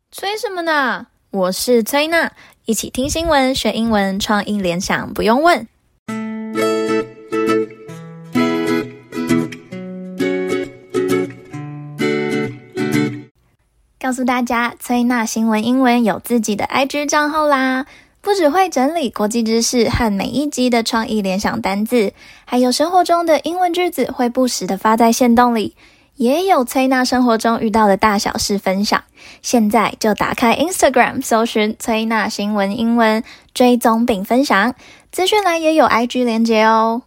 催什麼呢？我是崔娜，一起聽新聞學英文，創意聯想不用問。告訴大家，崔娜新聞英文有自己的 IG 賬號啦，不只會整理國際知識和每一集的創意聯想單字，還有生活中的英文句子會不時的發在限動裡，也有崔娜生活中遇到的大小事分享。現在就打開 Instagram 搜尋崔娜新聞英文，追蹤並分享，資訊欄也有 IG 連結哦。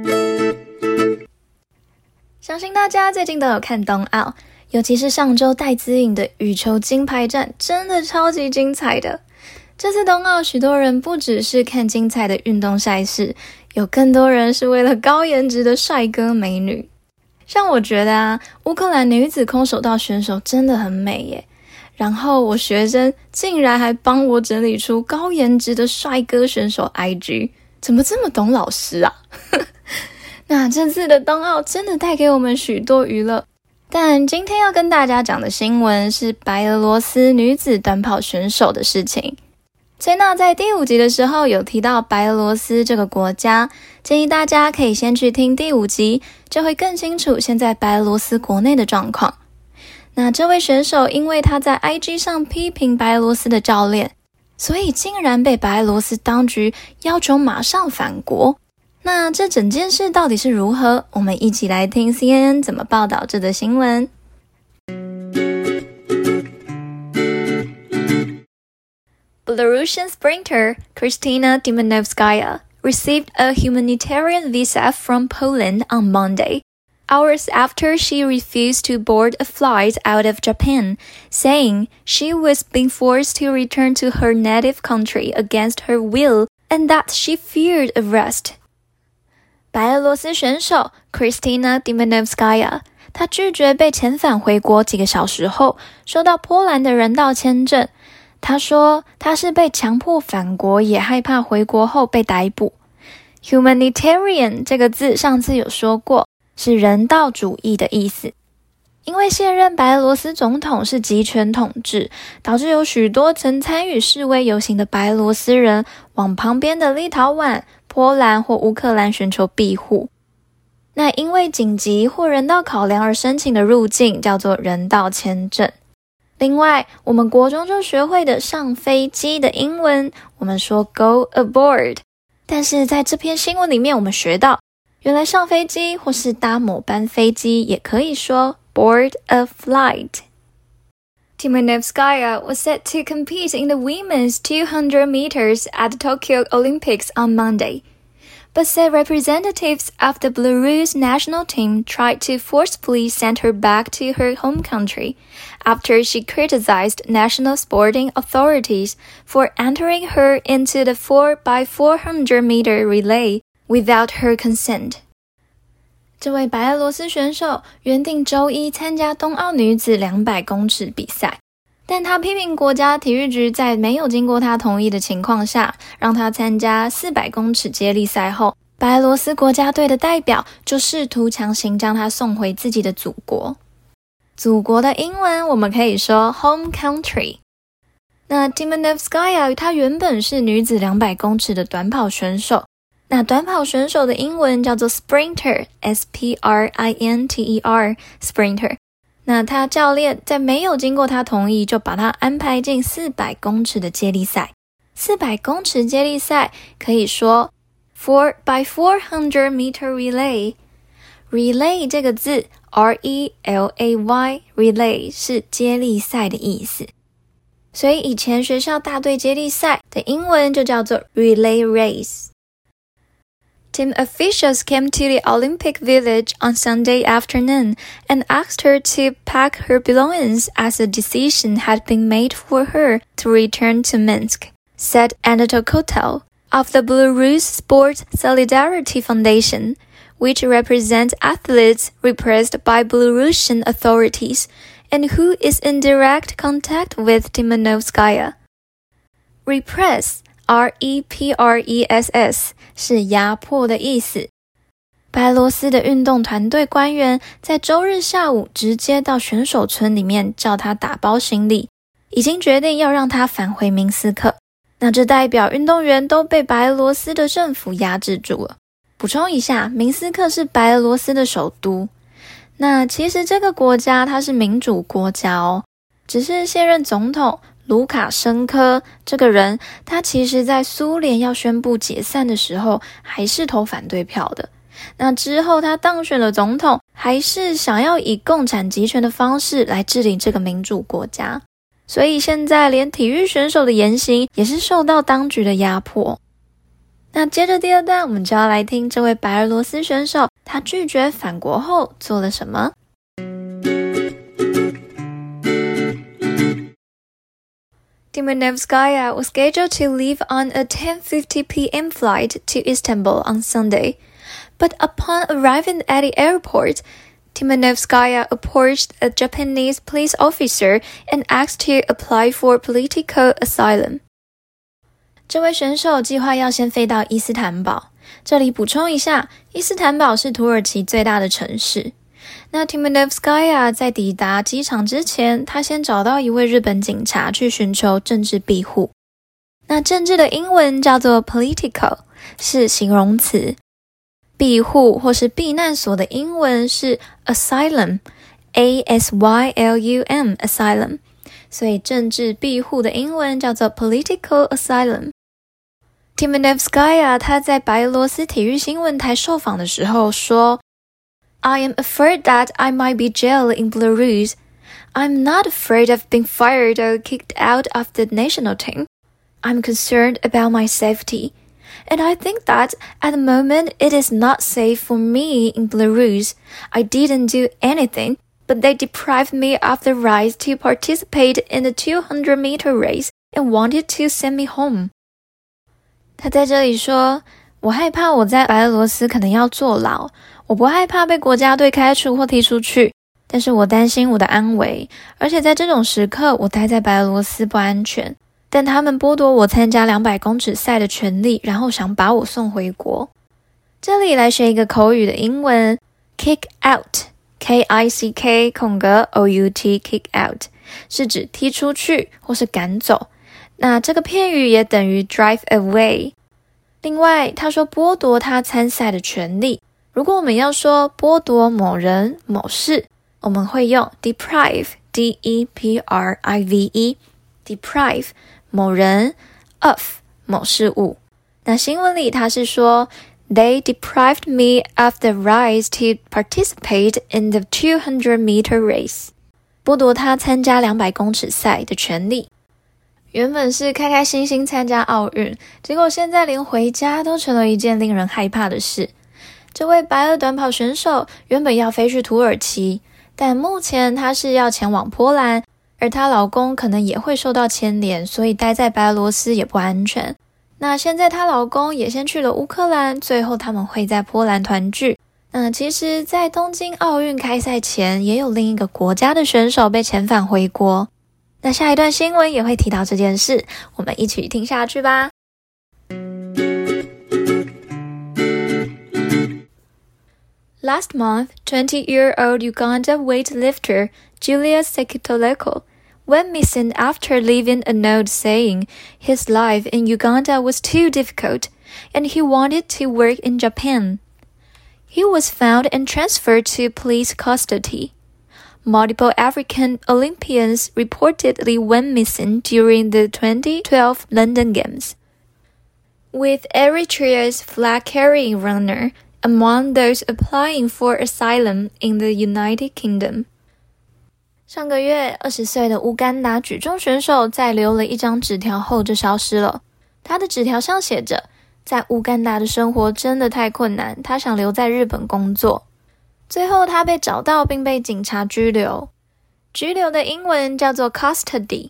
相信大家最近都有看冬奧，尤其是上周戴資穎的羽球金牌戰，真的超級精彩的。這次冬奧，許多人不只是看精彩的運動賽事，有更多人是為了高顏值的帥哥美女。像我覺得烏克蘭女子空手道選手真的很美耶。然後我學生竟然還幫我整理出高顏值的帥哥選手 IG， 怎麼這麼懂老師啊？那這次的冬奧真的帶給我們許多娛樂，但今天要跟大家講的新聞是白俄羅斯女子短跑選手的事情。崔娜在第5集的時候有提到白俄羅斯這個國家，建議大家可以先去聽第5集，就會更清楚現在白俄羅斯國內的狀況。那這位選手因為他在 IG 上批評白俄羅斯的教練，所以竟然被白俄羅斯當局要求馬上返國。那這整件事到底是如何？我們一起來聽 CNN 怎麼報道這則新聞。Belarusian sprinter Kristina Timanovskaya received a humanitarian visa from Poland on Monday, hours after she refused to board a flight out of Japan, saying she was being forced to return to her native country against her will and that she feared arrest. 白俄羅斯選手 Kristina Timanovskaya 她拒絕被遣返回國幾個小時後，收到波蘭的人道簽證。她說她是被強迫返國，也害怕回國後被逮捕。Humanitarian 這個字上次有說過，是人道主義的意思。因為現任白俄羅斯總統是集權統治，導致有許多曾參與示威遊行的白俄羅斯人往旁邊的立陶宛、波蘭或烏克蘭尋求庇護。那因為緊急或人道考量而申請的入境叫做人道簽證。另外，我們國中就學會的上飛機的英文，我們說 go aboard。但是在這篇新聞裡面，我們學到，原來上飛機或是搭某班飛機也可以說 board a flight. Timanovskaya was set to compete in the women's 200 meters at the Tokyo Olympics on Monday, but said representatives of the Belarus national team tried to forcefully send her back to her home country after she criticized national sporting authorities for entering her into the 4x400 meter relay without her consent. 這位白俄羅斯選手原定周一參加冬奧女子200公尺比賽，但他批評國家體育局在沒有經過他同意的情況下，讓他參加400公尺接力賽後，白俄羅斯國家隊的代表就試圖強行將他送回自己的祖國。祖國的英文我們可以說 home country。那 Timanovskaya 她原本是女子200公尺的短跑選手，那短跑選手的英文叫做 sprinter, S-P-R-I-N-T-E-R, sprinter。那他教練在沒有經過他同意，就把他安排進400公尺的接力賽。400公尺接力賽可以說 4x400 meter relay。Relay 這個字 R-E-L-A-Y, relay 是接力賽的意思。所以以前學校大隊接力賽的英文就叫做 relay race。Team officials came to the Olympic Village on Sunday afternoon and asked her to pack her belongings as a decision had been made for her to return to Minsk, said Anatol Kotel of the Belarus Sports Solidarity Foundation, which represents athletes repressed by Belarusian authorities and who is in direct contact with Timanovskaya. Repress R-E-P-R-E-S-S 是壓迫的意思。白俄羅斯的運動團隊官員在週日下午直接到選手村裡面叫他打包行李， 已經決定要讓他返回明斯克。那這代表運動員都被白俄羅斯的政府壓制住了。補充一下，明斯克是白俄羅斯的首都。那其實這個國家它是民主國家哦，只是現任總統盧卡申科這個人，他其實在蘇聯要宣布解散的時候，還是投反對票的。那之後他當選了總統，還是想要以共產集權的方式來治理這個民主國家。所以現在連體育選手的言行也是受到當局的壓迫。那接着第二段，我們就要來聽這位白俄羅斯選手他拒絕返國後做了什麼。Timanevskaya was scheduled to leave on a 10:50 p.m. flight to Istanbul on Sunday, but upon arriving at the airport, Timanevskaya approached a Japanese police officer and asked to apply for political asylum. 這位選手計劃要先飛到伊斯坦堡。這裡補充一下，伊斯坦堡是土耳其最大的城市。那 Timanevskaya 在抵達機場之前，他先找到一位日本警察去尋求政治庇護。那政治的英文叫做 political， 是形容詞。庇護或是避難所的英文是 asylum， A-S-Y-L-U-M asylum， 所以政治庇護的英文叫做 political asylum。 Timanevskaya 他在白俄羅斯體育新聞台受訪的時候說， I am afraid that I might be jailed in Belarus. I'm not afraid of being fired or kicked out of the national team. I'm concerned about my safety.And I think that at the moment it is not safe for me in Belarus. I didn't do anything, but they deprived me of the right to participate in the 200-meter race and wanted to send me home. 他在這裡說，我害怕我在白俄羅斯可能要坐牢，我不害怕被國家隊開除或踢出去，但是我擔心我的安危，而且在這種時刻，我待在白俄羅斯不安全。但他們剝奪我參加200公尺賽的權利，然後想把我送回國。這裡來學一個口語的英文 ，kick out， K-I-C-K 空格 O-U-T kick out 是指踢出去或是趕走。那這個片語也等於 drive away。另外，他說剝奪他參賽的權利。如果我們要說剝奪某人某事，我們會用 deprive， D-E-P-R-I-V-E， deprive。某人 of 某事物。那新聞裡他是說 They deprived me of the right to participate in the 200-meter race. 剝奪他參加200公尺賽的權利。原本是開開心心參加奧運，結果現在連回家都成了一件令人害怕的事。這位白俄短跑選手原本要飛去土耳其，但目前他是要前往波蘭，而她老公可能也會受到牽連，所以待在白俄羅斯也不安全。那現在她老公也先去了烏克蘭，最後他們會在波蘭團聚。那其實在東京奧運開賽前，也有另一個國家的選手被遣返回國。那下一段新聞也會提到這件事，我們一起聽下去吧。Last month, 20-year-old Uganda weightlifter Julius Sekitoleko went missing after leaving a note saying his life in Uganda was too difficult and he wanted to work in Japan. He was found and transferred to police custody. Multiple African Olympians reportedly went missing during the 2012 London Games, with Eritrea's flag-carrying runner among those applying for asylum in the United Kingdom. 上個月，20歲的烏干達舉重選手在留了一張紙條後就消失了。他的紙條上寫着，在烏干達的生活真的太困難，他想留在日本工作。最後他被找到並被警察拘留。拘留的英文叫做 custody，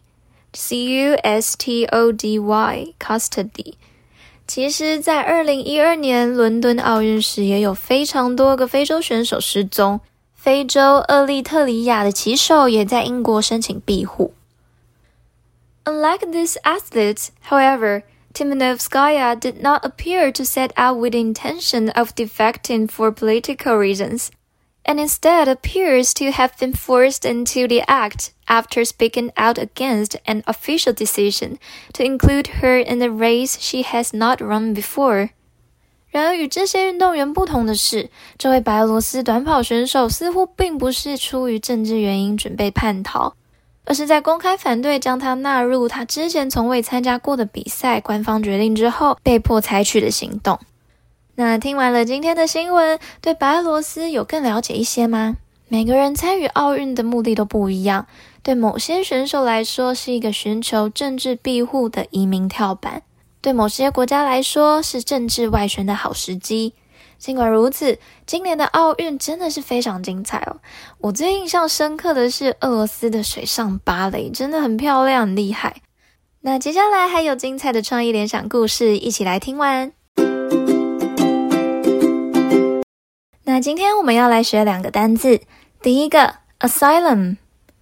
C-U-S-T-O-D-Y custody。其實在2012年倫敦奧運時，也有非常多個非洲選手失蹤。非洲厄立特里亞的騎手也在英國申請庇護。Unlike these athletes, however, Timanevskaya did not appear to set out with the intention of defecting for political reasons, and instead appears to have been forced into the act after speaking out against an official decision to include her in the race she has not run before. 然而与這些運動員不同的是，這位白俄羅斯短跑選手似乎並不是出於政治原因準備叛逃，而是在公開反對將他納入他之前從未參加過的比賽官方決定之後被迫採取的行動。那聽完了今天的新聞，對白俄羅斯有更了解一些嗎？每個人參與奧運的目的都不一樣，對某些選手來說是一個尋求政治庇護的移民跳板，對某些國家來說是政治外宣的好時機。儘管如此，今年的奧運真的是非常精彩哦。我最印象深刻的是俄羅斯的水上芭蕾，真的很漂亮，很厲害。那接下來還有精彩的創意聯想故事，一起來聽完。那今天我們要來學兩個單字，第一個 asylum，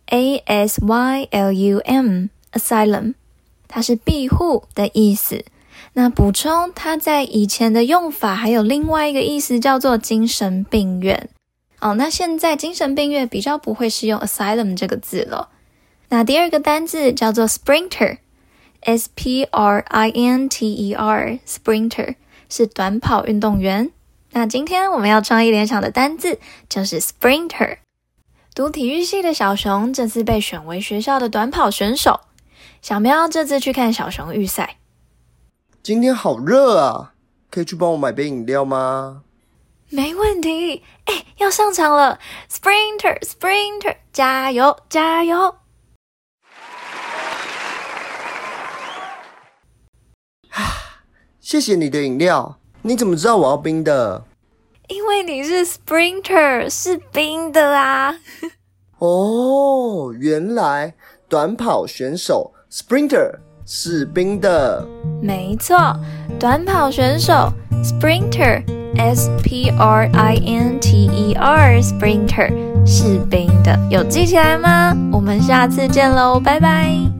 A-S-Y-L-U-M， asylum， 它是庇護的意思。那補充，它在以前的用法還有另外一個意思叫做精神病院。那現在精神病院比較不會使用 asylum 這個字了。那第二個單字叫做 sprinter， S-P-R-I-N-T-E-R， sprinter 是短跑運動員。那今天我們要創意聯想的單字就是 sprinter。 讀體育系的小熊這次被選為學校的短跑選手。小喵這次去看小熊預賽。 今天好熱啊，可以去幫我買杯飲料嗎？ 沒問題。要上場了， Sprinter Sprinter， 加油加油。 謝謝你的飲料。你怎麼知道我要冰的？ 因為你是 Sprinter， 是冰的啊。 哦，原來短跑選手 Sprinter 是冰的。 沒錯，短跑選手 Sprinter S-P-R-I-N-T-E-R Sprinter 是冰的，有記起來嗎？我們下次見嘍，拜拜。